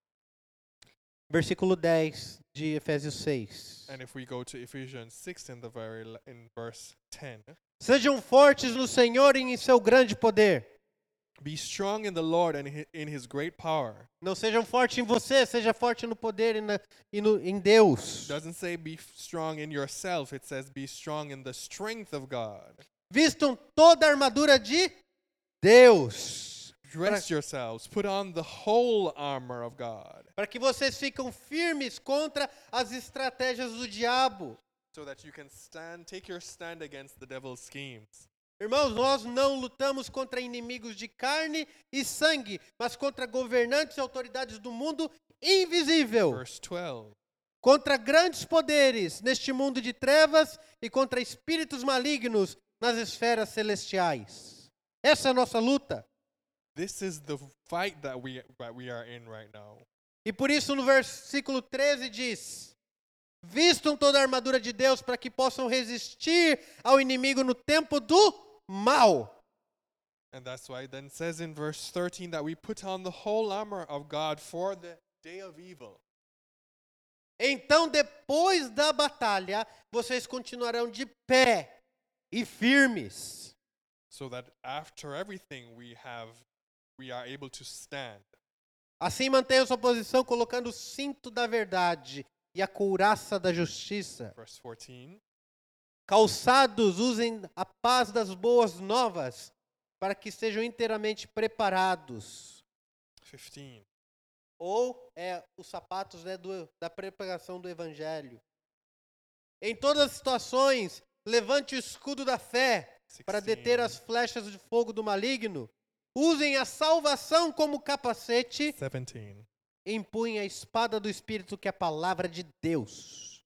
Versículo dez de Efésios seis. And if we go to Ephesians six in the very l- in verse ten, Sejam fortes no Senhor e em seu grande poder. be strong in the Lord and hi- in his great power. Não sejam fortes em você, seja forte no poder e, na, e no, em Deus. Doesn't say be f- strong in yourself, it says be strong in the strength of God. Vistam toda a armadura de Deus. Dress yourselves, put on the whole armor of God, Para que vocês fiquem firmes contra as estratégias do diabo. so that you can stand, take your stand against the devil's schemes. Irmãos, nós não lutamos contra inimigos de carne e sangue, mas contra governantes e autoridades do mundo invisível, Verse twelve. contra grandes poderes neste mundo de trevas e contra espíritos malignos nas esferas celestiais. Essa é a nossa luta. This is the fight that we that we are in right now. E por isso no versículo treze diz: vistam toda a armadura de Deus para que possam resistir ao inimigo no tempo do mal. And that's why it then says in verse thirteen that we put on the whole armor of God for the day of evil. Então, depois da batalha, vocês continuarão de pé e firmes. So that after everything we have we are able to stand. Assim mantenham sua posição colocando o cinto da verdade e a couraça da justiça. Verse fourteen. Calçados, usem a paz das boas novas para que estejam inteiramente preparados. fifteen. Ou é os sapatos, né, do, da preparação do evangelho. Em todas as situações, levante o escudo da fé para deter as flechas de fogo do maligno. Usem a salvação como capacete. seventeen. Empunhem a espada do Espírito, que é a palavra de Deus.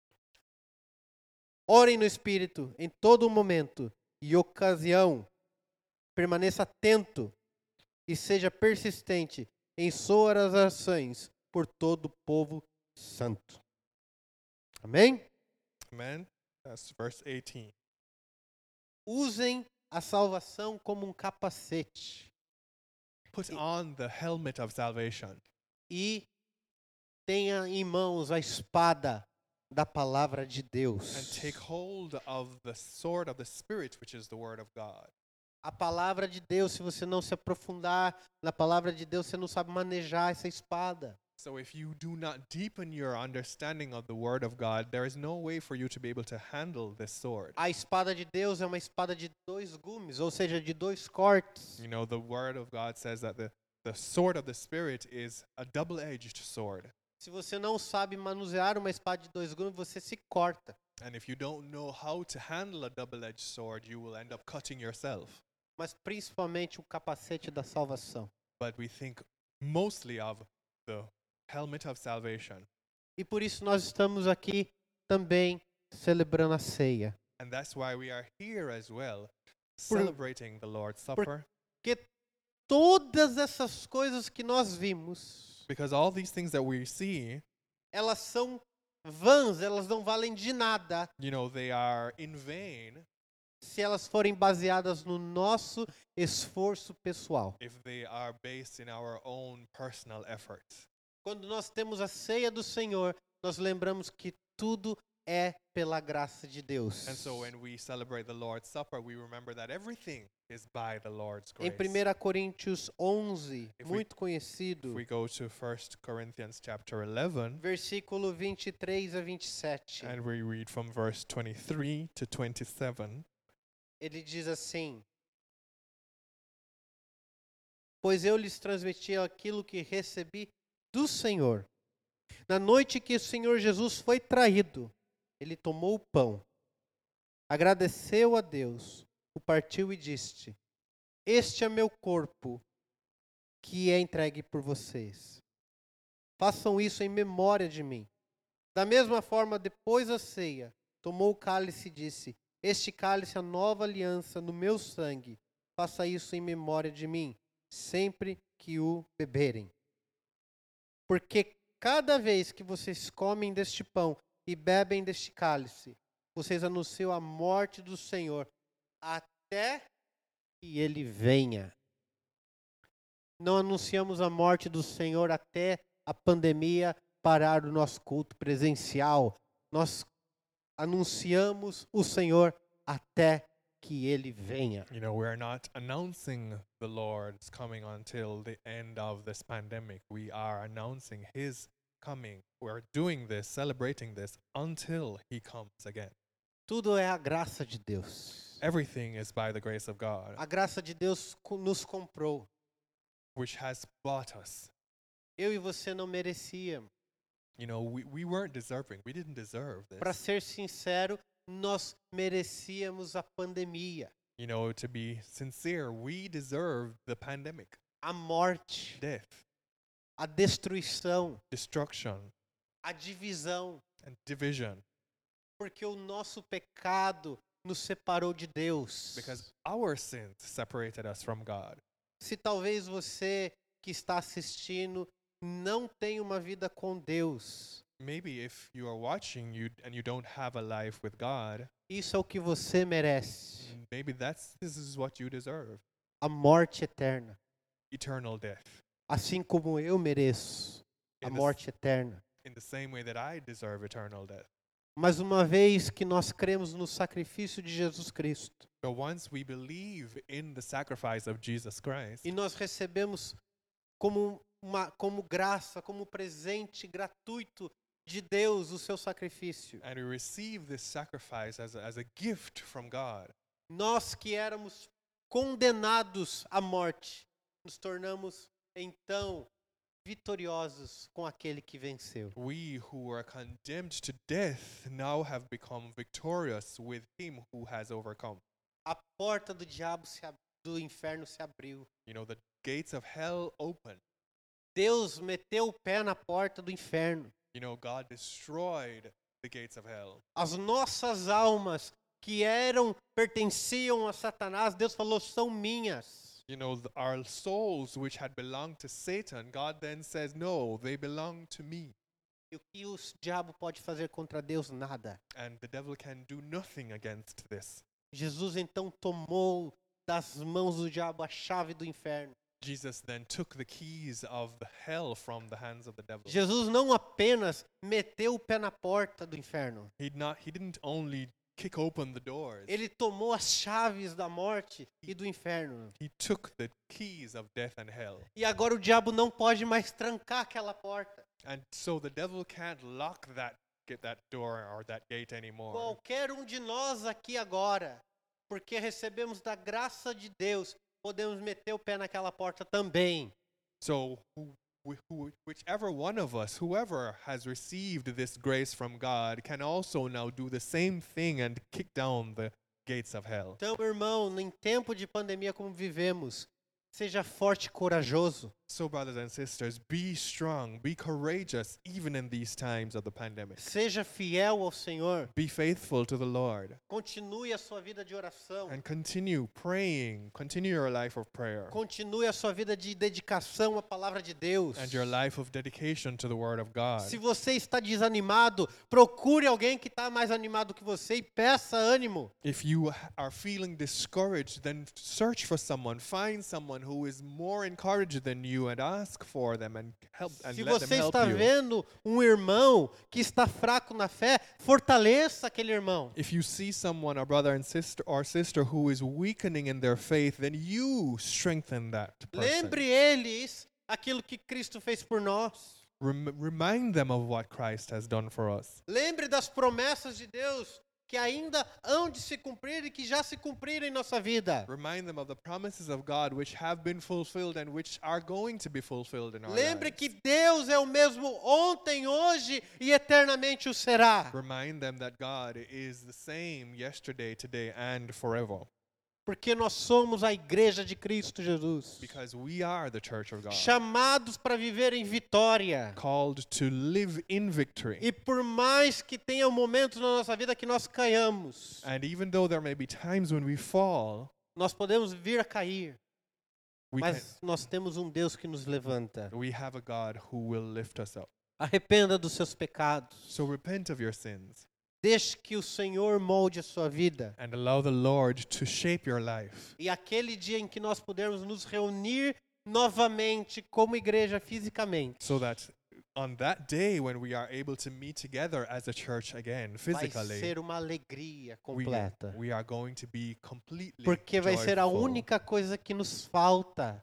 Orem no Espírito em todo momento e ocasião. Permaneça atento e seja persistente em suas orações por todo o povo santo. Amém? Amen. That's verse eighteen. Usem a salvação como um capacete Put on the helmet of salvation e tenha em mãos a espada da palavra de and Deus. take hold of the sword of the Spirit, which is the word of God. A palavra de Deus, se você não se aprofundar na palavra de Deus, você não sabe manejar essa espada. So if you do not deepen your understanding of the word of God, there is no way for you to be able to handle this sword. A espada de Deus é uma espada de dois gumes, ou seja, de dois cortes. You know, the word of God says that the, the sword of the Spirit is a double-edged sword. Se você não sabe manusear uma espada de dois gumes, você se corta. And if you don't know how to handle a double-edged sword, you will end up cutting yourself. Mas principalmente o capacete da salvação. But we think mostly of the helmet of salvation. E por isso nós estamos aqui também celebrando a ceia. And that's why we are here as well, Por- celebrating the Lord's Supper. Porque todas essas coisas que nós vimos, Because all these things that we see, elas são vãs, elas não valem de nada you know, they are in vain se elas forem baseadas no nosso esforço pessoal. if they are based in our own personal efforts. Quando nós temos a ceia do Senhor, nós lembramos que tudo é pela graça de Deus. And so when we celebrate the Lord's Supper, we remember that everything is by the Lord's Em grace. primeira Coríntios onze, If we- muito conhecido, If we go to First Corinthians chapter eleven, versículo vinte e três a vinte e sete, and we read from verse twenty-three to twenty-seven, ele diz assim: Pois eu lhes transmiti aquilo que recebi do Senhor. Na noite que o Senhor Jesus foi traído, ele tomou o pão, agradeceu a Deus, o partiu e disse: Este é meu corpo, que é entregue por vocês. Façam isso em memória de mim. Da mesma forma, depois da ceia, tomou o cálice e disse: Este cálice é a nova aliança no meu sangue. Faça isso em memória de mim, sempre que o beberem. Porque cada vez que vocês comem deste pão e bebem deste cálice, vocês anunciam a morte do Senhor até que ele venha. Não anunciamos a morte do Senhor até a pandemia parar o nosso culto presencial. Nós anunciamos o Senhor até que ele venha. you know, we're not announcing the Lord's coming until the end of this pandemic. We are announcing his coming. We're doing this, celebrating this until he comes again. Tudo é a graça de Deus. Everything is by the grace of God, A graça de Deus co- nos comprou. which has bought us. Eu e você não merecíamos. You know, we, we weren't deserving. We didn't deserve Para this. ser sincero, nós merecíamos a pandemia, You know, to be sincere, we deserved the pandemic, a morte, death, a destruição, destruction, a divisão, and division, porque o nosso pecado nos separou de Deus. because our sins separated us from God. Se talvez você que está assistindo não tenha uma vida com Deus, Maybe if you are watching you and you don't have a life with God, isso é o que você merece, maybe that's this is what you deserve. a morte eterna, Eternal death. assim como eu mereço a In the, s- morte eterna. in the same way that I deserve eternal death. Mas uma vez que nós cremos no sacrifício de Jesus Cristo But once we believe in the sacrifice of Jesus Christ, e nós recebemos como uma como graça, como presente gratuito de Deus o seu sacrifício, and we receive this sacrifice as a, as a gift from God, nós que éramos condenados à morte, nos tornamos então vitoriosos com aquele que venceu. we who were condemned to death now have become victorious with him who has overcome. A porta do diabo se ab- do inferno se abriu. You know, the gates of hell open. Deus meteu o pé na porta do inferno. You know, God destroyed the gates of hell. As nossas almas que eram pertenciam a Satanás, Deus falou, são minhas. You know, th- our souls which had belonged to Satan, God then says, no, they belong to me. E o que o s- diabo pode fazer contra Deus? Nada. And the devil can do nothing against this. Jesus então tomou das mãos do diabo a chave do inferno. Jesus then took the keys of the hell from the hands of the devil. Jesus não apenas meteu o pé na porta do inferno. He'd not, he didn't only kick open the doors. Ele tomou as chaves da morte e do inferno. He took the keys of death and hell. E agora o diabo não pode mais trancar aquela porta. And so the devil can't lock that get that door or that gate anymore. Qualquer um de nós aqui agora, porque recebemos da graça de Deus, podemos meter o pé naquela porta também. So who, wh- who, whichever one of us, whoever has received this grace from God, can also now do the same thing and kick down the gates of hell. Então, irmão, em tempo de pandemia como vivemos, seja forte e corajoso. So, brothers and sisters, be strong, be courageous, even in these times of the pandemic. Seja fiel ao Senhor. Be faithful to the Lord Continue a sua vida de oração. and continue praying. Continue your life of prayer Continue a sua vida de dedicação à palavra de Deus. and your life of dedication to the Word of God. Se você está desanimado, procure alguém que está mais animado que você e peça ânimo. If you are feeling discouraged, then search for someone, find someone who is more encouraged than you and ask for them and help and Se let them você help está you. vendo um irmão que está fraco na fé, fortaleça aquele irmão. If you see someone, a brother and sister or sister who is weakening in their faith, then you strengthen that person. Lembre eles aquilo que Cristo fez por nós. Rem- remind them of what Christ has done for us. Lembre das promessas de Deus que ainda hão de se cumprir e que já se cumpriram em nossa vida. Remind them of the promises of God which have been fulfilled and which are going to be fulfilled in our Lembre lives. que Deus é o mesmo ontem, hoje e eternamente o será. Remind them that God is the same yesterday, today, and forever. Porque nós somos a igreja de Cristo Jesus. Because we are the church of God, Chamados para viver em vitória. called to live in victory. E por mais que tenha momentos na nossa vida que nós caiamos, And even though there may be times when we fall, nós podemos vir a cair, we, can, mas nós temos um Deus que nos levanta. we have a God who will lift us up. Arrependa dos seus pecados. So repent of your sins Deixe que o Senhor molde a sua vida. and allow the Lord to shape your life. E aquele dia em que nós pudermos nos reunir novamente como igreja fisicamente, So that on that day when we are able to meet together as a church again, vai physically, ser uma alegria we, completa. we are going to be completely Porque vai ser a joyful. única coisa que nos falta,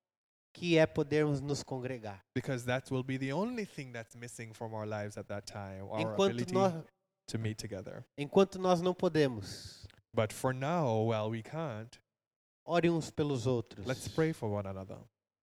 que é podermos nos congregar. Because that will be the only thing that's missing from our lives at that time, our Enquanto ability nós, to meet together. enquanto nós não podemos, But for now, while we can't, ore uns pelos outros. let's pray for one another.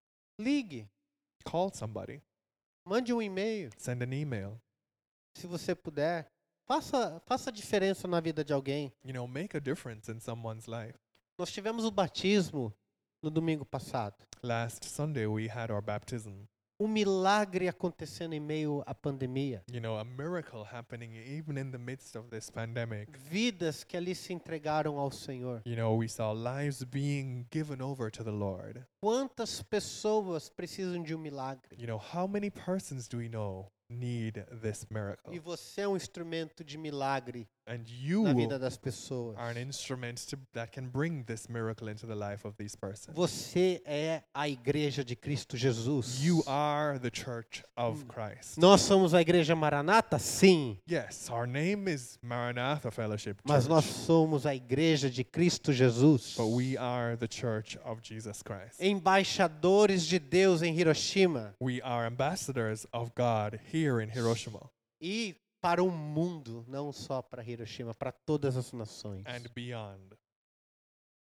Ligue, Call somebody. mande um e-mail, Send an email. se você puder. Faça, faça a diferença na vida de alguém. You know, make a difference in someone's life. Nós tivemos o batismo no domingo passado. Last Sunday, we had our baptism. Um milagre acontecendo em meio à pandemia. You know, a miracle happening even in the midst of this pandemic. Vidas que ali se entregaram ao Senhor. You know, we saw lives being given over to the Lord. Quantas pessoas precisam de um milagre? You know, how many persons do we know need this miracle? E você é um instrumento de milagre And you na vida das pessoas. are an instrument to, that can bring this miracle into the life of these persons. Você é a igreja de Cristo Jesus. You are the church of Christ. Nós somos a igreja Maranata? Sim. Yes, our name is Maranatha Fellowship Mas nós Church, somos a igreja de Cristo Jesus. but we are the church of Jesus Christ. Embaixadores de Deus em Hiroshima. We are ambassadors of God here in Hiroshima E para o mundo, não só para Hiroshima, para todas as nações. and beyond.